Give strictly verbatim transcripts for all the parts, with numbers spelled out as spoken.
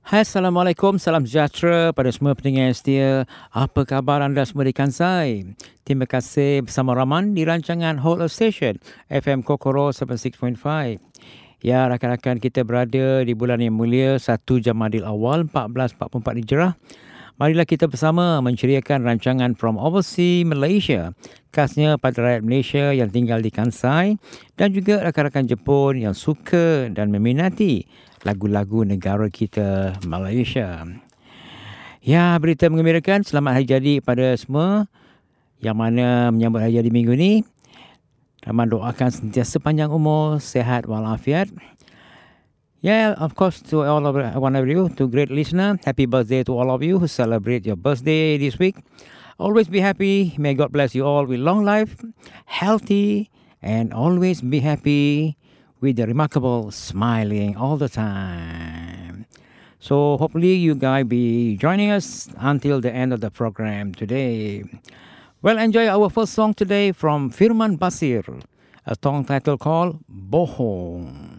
Hai, Assalamualaikum, salam sejahtera pada semua pendengar yang setia. Apa khabar anda semua di Kansai? Terima kasih bersama Rahman di rancangan Whole of Station F M Kokoro tujuh puluh enam titik lima. Ya, rakan-rakan kita berada di bulan yang mulia satu Jamadil Awal seribu empat ratus empat puluh empat Hijrah. Marilah kita bersama menceriakan rancangan From Overseas Malaysia, khasnya pada rakyat Malaysia yang tinggal di Kansai dan juga rakan-rakan Jepun yang suka dan meminati lagu-lagu negara kita Malaysia. Ya, berita menggembirakan, selamat hari jadi pada semua yang mana menyambut hari jadi minggu ni. Rahman doakan sentiasa panjang umur, sehat walafiat. Yeah, of course, to all of one of you, to great listener, happy birthday to all of you who celebrate your birthday this week. Always be happy. May God bless you all with long life, healthy, and always be happy with the remarkable smiling all the time. So hopefully you guys be joining us until the end of the program today. Well, enjoy our first song today from Firman Basir, a song title called Bohong.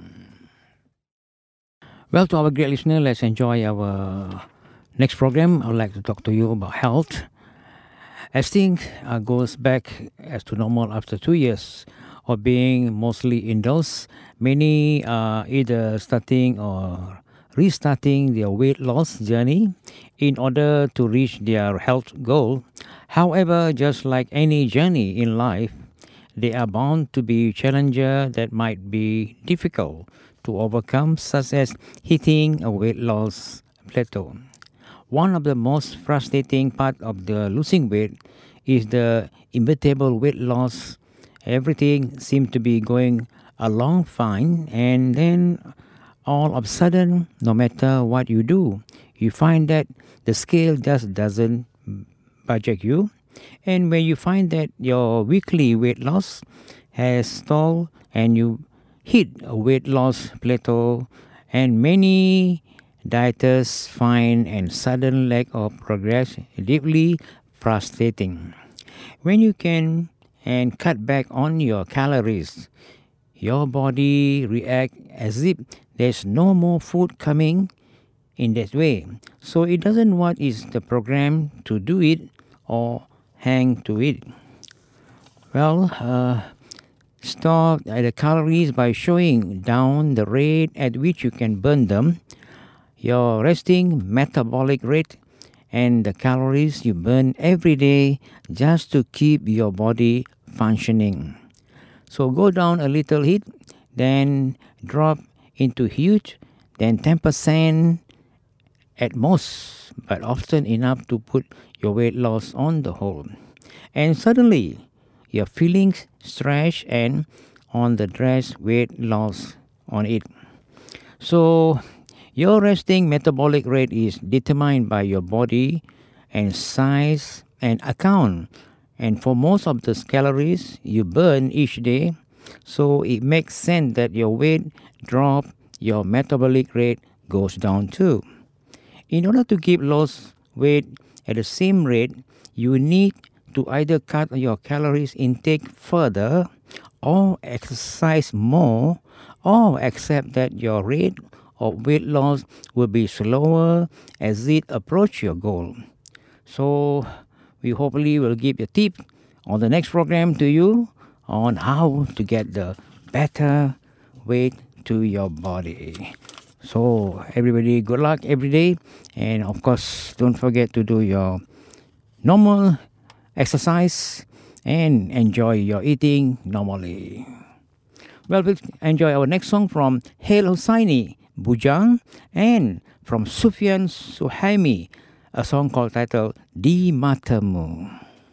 Well, to our great listener, let's enjoy our next program. I would like to talk to you about health. As things uh, goes back as to normal after two years of being mostly indoors, many are either starting or restarting their weight loss journey in order to reach their health goal. However, just like any journey in life, there are bound to be challenges that might be difficult to overcome, such as hitting a weight loss plateau. One of the most frustrating part of the losing weight is the inevitable weight loss. Everything seems to be going along fine, and then all of a sudden, no matter what you do, you find that the scale just doesn't budget you. And when you find that your weekly weight loss has stalled and you hit a weight loss plateau, and many dieters find a sudden lack of progress deeply frustrating. When you can and cut back on your calories, your body reacts as if there's no more food coming in that way. So it doesn't want is the program to do it or hang to it. Well, uh, stop at the calories by showing down the rate at which you can burn them, your resting metabolic rate, and the calories you burn every day just to keep your body functioning. So go down a little hit, then drop into huge, then ten percent at most, but often enough to put your weight loss on the hold. And suddenly, you're feeling stretched and on the dress weight loss on it. So your resting metabolic rate is determined by your body and size and account. And for most of the calories you burn each day, so it makes sense that your weight drop, your metabolic rate goes down too. In order to keep lost weight at the same rate, you need to either cut your calories intake further or exercise more, or accept that your rate of weight loss will be slower as it approaches your goal. So we hopefully will give a tip on the next program to you on how to get the better weight to your body. So everybody, good luck every day, and of course don't forget to do your normal exercise and enjoy your eating normally. Well, we'll enjoy our next song from Hail Hussaini, Bujang, and from Sufyan Suhaimi, a song called titled Di Matamu.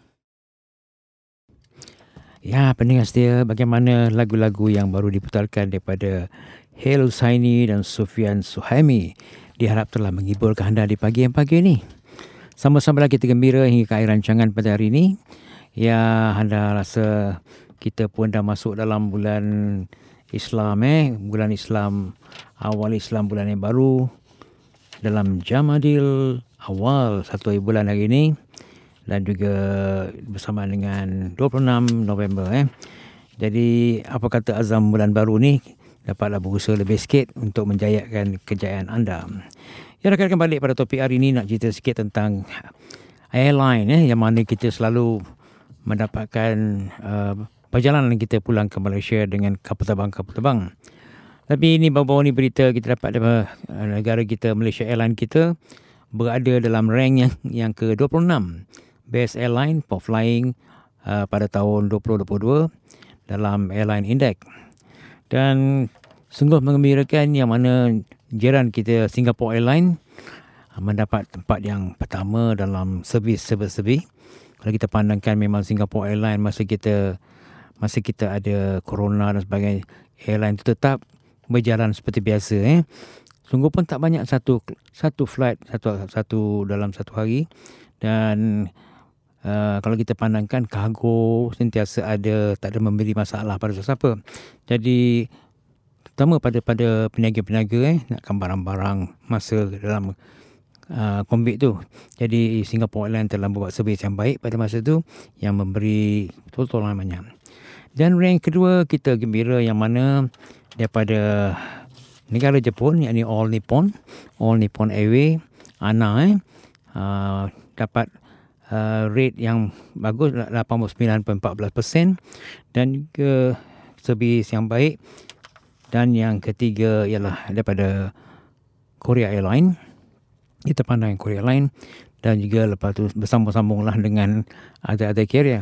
Ya, pendengar setia, bagaimana lagu-lagu yang baru diputarkan daripada Hail Hussaini dan Sufyan Suhaimi diharap telah menghiburkan anda di pagi yang pagi ini. Sama-sama kita gembira hingga ke akhir rancangan pada hari ini. Ya, anda rasa kita pun dah masuk dalam bulan Islam eh, bulan Islam, awal Islam bulan yang baru dalam Jamadil Awal satu bulan hari ini, dan juga bersama dengan dua puluh enam November eh. Jadi apa kata azam bulan baru ni, dapatlah berusaha lebih sikit untuk menjayakan kejayaan anda. Ya, rakan-rakan, balik pada topik hari ini nak cerita sikit tentang airline eh, yang mana kita selalu mendapatkan uh, perjalanan kita pulang ke Malaysia dengan kapal terbang-kapal terbang. Tapi ini baru-baru ni berita kita dapat daripada uh, negara kita, Malaysia Airline kita berada dalam rank yang yang ke dua puluh enam Best Airline for Flying uh, pada tahun dua ribu dua puluh dua dalam Airline Index. Dan sungguh menggembirakan yang mana jiran kita Singapore Airline mendapat tempat yang pertama dalam servis servis-servis. Kalau kita pandangkan, memang Singapore Airline masa kita masa kita ada corona dan sebagainya, airline itu tetap berjalan seperti biasa. Eh. Sungguh pun tak banyak satu satu flight satu satu dalam satu hari. Dan uh, kalau kita pandangkan, kargo sentiasa ada, tak ada memberi masalah pada sesiapa. Jadi terutama pada pada peniaga-peniaga eh nakkan barang-barang masa dalam uh, COVID tu. Jadi Singapore Airlines telah membuat servis yang baik pada masa tu, yang memberi tolongan banyak. Dan rank kedua kita gembira yang mana daripada negara Jepun, yakni All Nippon, All Nippon Airways, A N A eh uh, dapat uh, rate yang bagus, lapan puluh sembilan perpuluhan empat belas peratus, dan juga servis yang baik. Dan yang ketiga ialah daripada Korea Airline. Kita pandang Korea Airline, dan juga lepas tu bersambung-sambunglah dengan ada-ada carrier.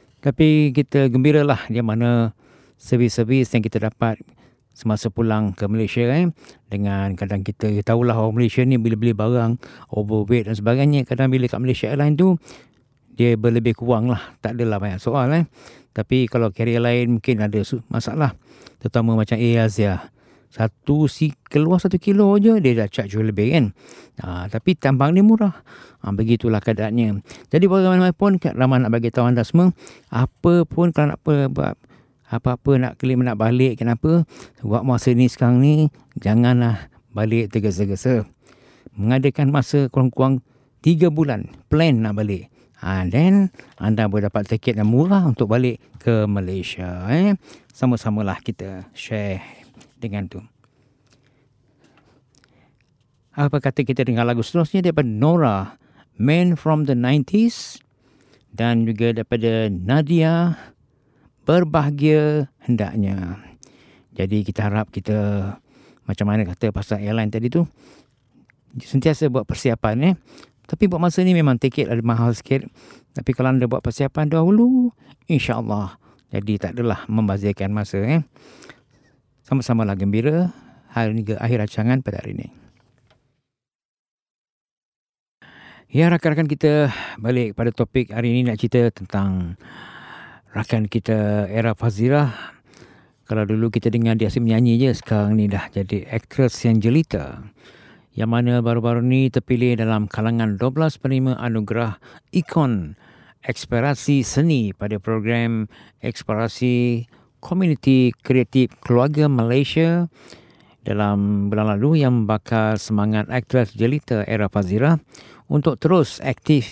Tapi kita gembiralah di mana servis-servis yang kita dapat semasa pulang ke Malaysia eh, dengan kadang kita tahulah orang Malaysia ni bila beli barang overweight dan sebagainya, kadang bila kat Malaysia Airline tu dia berlebih kurang lah, tak adalah banyak soal eh. Tapi kalau carrier lain mungkin ada masalah, terutama macam Air Asia. Satu si keluar satu kilo je dia dah charge lebih kan. Ha, tapi tambang ni murah. Ha, begitulah keadaannya. Jadi bagaimanapun, ramai nak bagi tahu anda semua, apa pun kalau nak buat apa-apa, nak claim nak balik, kenapa buat masa ni sekarang ni, janganlah balik tergesa-gesa. Mengadakan masa kurang-kurang tiga bulan plan nak balik. Ha, then anda boleh dapat tiket yang murah untuk balik ke Malaysia. Eh? Sama-samalah kita share dengan tu. Apa kata kita dengar lagu seterusnya daripada Nora, Man from the nineties, dan juga daripada Nadia, Berbahagia Hendaknya. Jadi kita harap kita, macam mana kata pasal airline tadi tu, sentiasa buat persiapan eh. Tapi buat masa ni memang tiket ada mahal sikit. Tapi kalau anda buat persiapan dahulu, insya-Allah jadi tak adalah membazirkan masa eh. Sama-samalah gembira hari ni ke akhir rancangan pada hari ini. Ya, rakan-rakan, kita balik pada topik hari ini, nak cerita tentang rakan kita Era Fazira. Kalau dulu kita dengar dia asyik menyanyi je, sekarang ni dah jadi aktris yang jelita, yang mana baru-baru ni terpilih dalam kalangan dua belas penerima anugerah ikon eksplorasi seni pada program eksplorasi Komuniti Kreatif Keluarga Malaysia dalam bulan lalu, yang membakar semangat aktris jelita Era Fazira untuk terus aktif.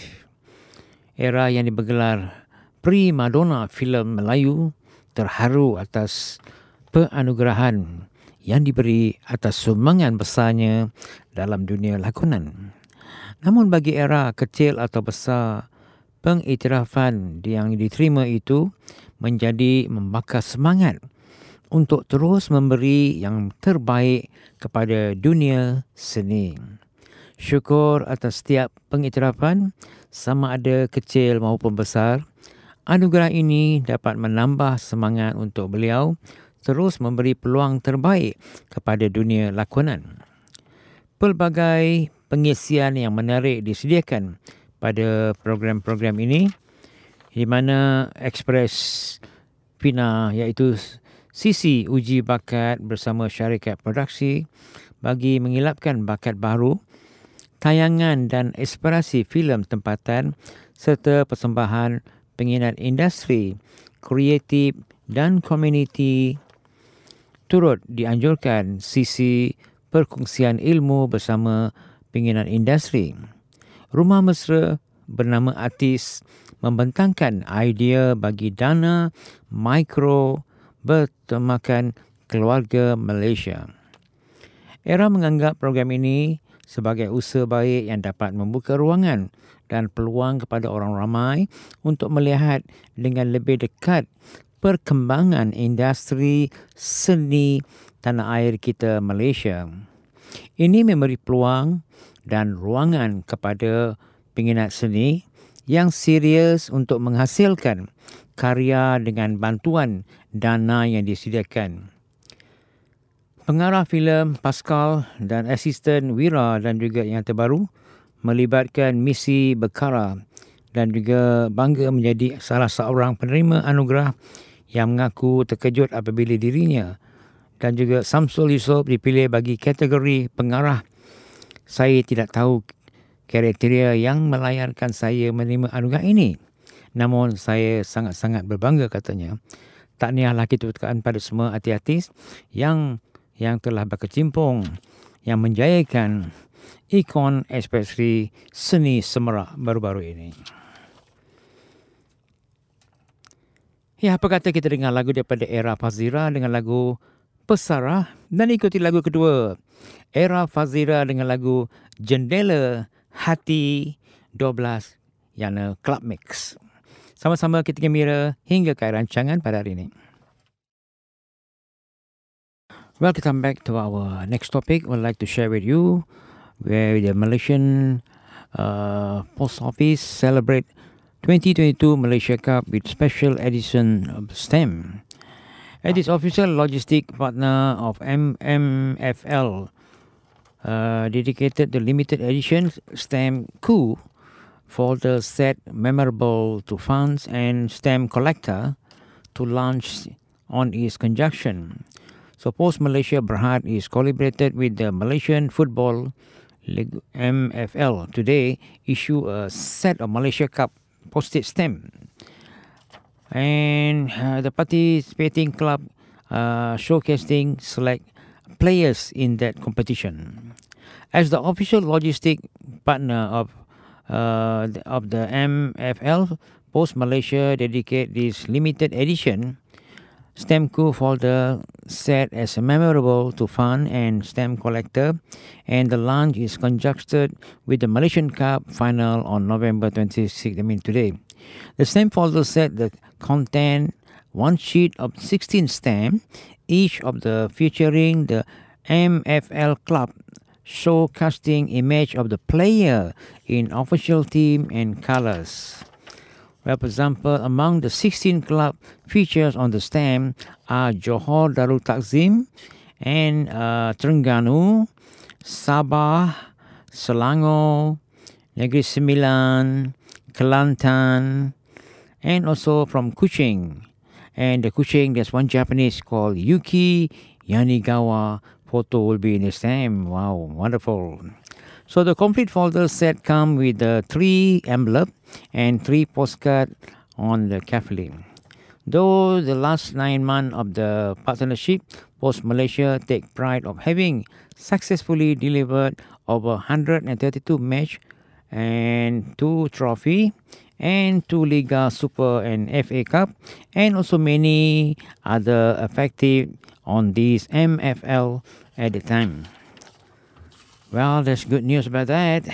Era yang dibergelar Prima Donna filem Melayu terharu atas penganugerahan yang diberi atas sumbangan besarnya dalam dunia lakonan. Namun bagi Era, kecil atau besar, pengiktirafan yang diterima itu menjadi membakar semangat untuk terus memberi yang terbaik kepada dunia seni. Syukur atas setiap pengiktirafan, sama ada kecil maupun besar. Anugerah ini dapat menambah semangat untuk beliau terus memberi peluang terbaik kepada dunia lakonan. Pelbagai pengisian yang menarik disediakan pada program-program ini, di mana Express Pina, iaitu sisi uji bakat bersama syarikat produksi bagi mengilapkan bakat baru, tayangan dan inspirasi filem tempatan serta persembahan pengingat industri, kreatif dan komuniti, turut dianjurkan sisi perkongsian ilmu bersama pengingat industri. Rumah Mesra bernama artis membentangkan idea bagi dana mikro bertemakan keluarga Malaysia. Era menganggap program ini sebagai usaha baik yang dapat membuka ruangan dan peluang kepada orang ramai untuk melihat dengan lebih dekat perkembangan industri seni tanah air kita Malaysia. Ini memberi peluang dan ruangan kepada peminat seni yang serius untuk menghasilkan karya dengan bantuan dana yang disediakan. Pengarah filem Pascal dan asisten Wira dan juga yang terbaru melibatkan misi berkara dan juga bangga menjadi salah seorang penerima anugerah yang mengaku terkejut apabila dirinya dan juga Samsul Yusof dipilih bagi kategori pengarah. Saya tidak tahu kriteria yang melayarkan saya menerima anugerah ini. Namun saya sangat-sangat berbangga, katanya. Tahniah lagi ketukaan pada semua artis yang yang telah berkecimpung, yang menjayakan ikon ekspresi seni Semerak baru-baru ini. Ya, apa kata kita dengar lagu daripada Era Fazira dengan lagu Pesara, dan ikuti lagu kedua, Era Fazira dengan lagu Jendela Hati dua belas yang Club Mix. Sama-sama kita gembira hingga ke rancangan pada hari ini. Well, to come back to our next topic, I would like to share with you where the Malaysian uh, Post Office celebrate twenty twenty-two Malaysia Cup with special edition of stamp. It is official logistic partner of M M F L, uh, dedicated the limited edition stamp coup for the set memorable to fans and stamp collector to launch on its conjunction. So Post Malaysia Berhad is collaborated with the Malaysian Football League M F L today issue a set of Malaysia Cup postage stamp. And uh, the participating club uh, showcasing select players in that competition. As the official logistic partner of uh, of the M F L, Post Malaysia dedicate this limited edition stamp coup folder set as a memorable to fan and stamp collector, and the launch is conjuncted with the Malaysian Cup final on November twenty-sixth, I mean today. The stamp folder set the content one sheet of sixteen stamps, each of the featuring the M F L club showcasing image of the player in official team and colors. Well, for example, among the sixteen club features on the stamp are Johor Darul Takzim and uh, Terengganu, Sabah, Selangor, Negeri Sembilan, Kelantan, and also from Kuching. And the Kuching, there's one Japanese called Yuki Yanigawa. Photo will be in the stamp. Wow, wonderful. So the complete folder set come with the three envelope and three postcard on the carefully. Though the last nine months of the partnership, Post Malaysia take pride of having successfully delivered over one hundred thirty-two match and two trophy and two Liga Super and F A Cup, and also many other effective on this M F L at the time. Well, there's good news about that.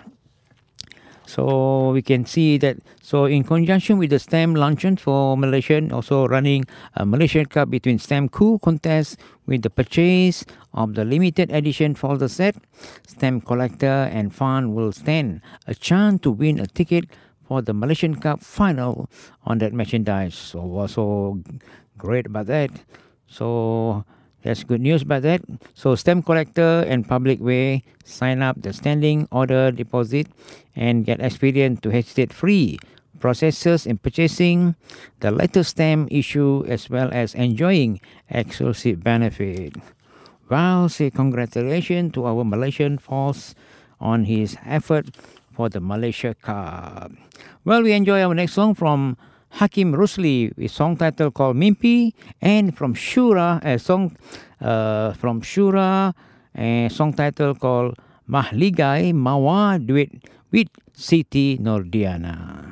So we can see that, so in conjunction with the stamp luncheon for Malaysian, also running a Malaysian Cup between stamp coup contest with the purchase of the limited edition folder set, stamp collector and fan will stand a chance to win a ticket for the Malaysian Cup final on that merchandise. So also great about that. So that's good news about that. So stamp collector and public way sign up the standing order deposit and get experience to hesitate free processes in purchasing the latest stamp issue as well as enjoying exclusive benefit. Well, say congratulations to our Malaysian force on his effort for the Malaysia Cup. Well, we enjoy our next song from Hakim Rusli, with song title called Mimpi, and from Shura, a song uh, from Shura, a song title called Mahligai Mawa Duit with Siti Nordiana.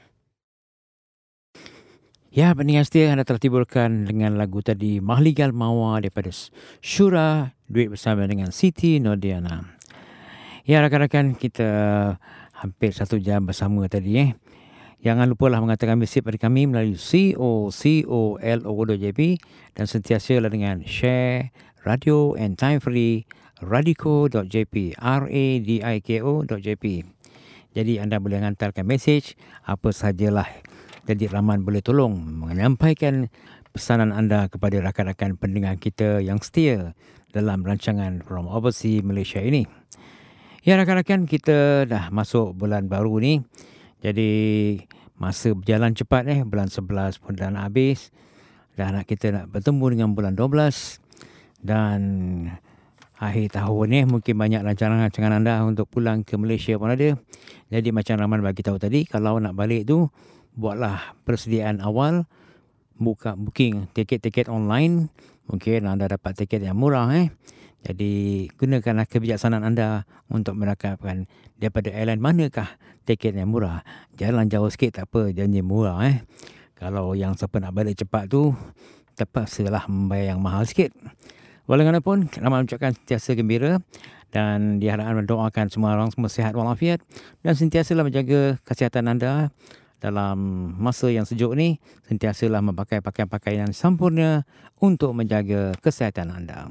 Ya, pendengar setia, anda telah tiburkan dengan lagu tadi Mahligai Mawa daripada Shura, duit bersama dengan Siti Nordiana. Ya, rakan-rakan, kita hampir satu jam bersama tadi eh. Jangan lupalah mengatakan mesej pada kami melalui co.colo dot jp dan sentiasalah dengan share radio and time free radiko dot jp R-A-D-I-K-O dot jp. Jadi anda boleh hantarkan mesej apa sahajalah. Jadi Rahman boleh tolong menyampaikan pesanan anda kepada rakan-rakan pendengar kita yang setia dalam rancangan From Overseas Malaysia ini. Ya rakan-rakan, kita dah masuk bulan baru ni. Jadi masa berjalan cepat eh. Bulan sebelas pun dah nak habis. Dah nak kita nak bertemu dengan bulan dua belas. Dan akhir tahun ni mungkin banyak rancangan-rancangan anda untuk pulang ke Malaysia pun ada. Jadi macam Rahman bagi tahu tadi, kalau nak balik tu buatlah persediaan awal. Buka booking tiket-tiket online. Mungkin anda dapat tiket yang murah eh. Jadi gunakanlah kebijaksanaan anda untuk merakapkan daripada airline manakah tiket yang murah. Jalan jauh sikit tak apa, janji murah eh. Kalau yang siapa nak balik cepat tu terpaksalah membayar yang mahal sikit. Walaupun Rahman ucapkan sentiasa gembira dan diharapkan mendoakan semua orang semua sihat walafiat dan sentiasalah menjaga kesihatan anda dalam masa yang sejuk ni. Sentiasalah memakai pakaian-pakaian yang sempurna untuk menjaga kesihatan anda.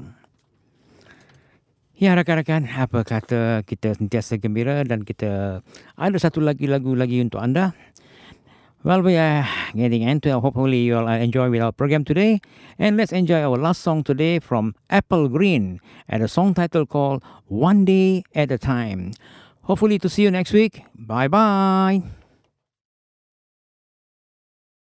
Ya rakan-rakan, apa kata kita sentiasa gembira dan kita ada satu lagi lagu lagi untuk anda. Well, we are getting into it. Hopefully you all enjoy with our program today. And let's enjoy our last song today from Apple Green and a song title called One Day at a Time. Hopefully to see you next week. Bye-bye.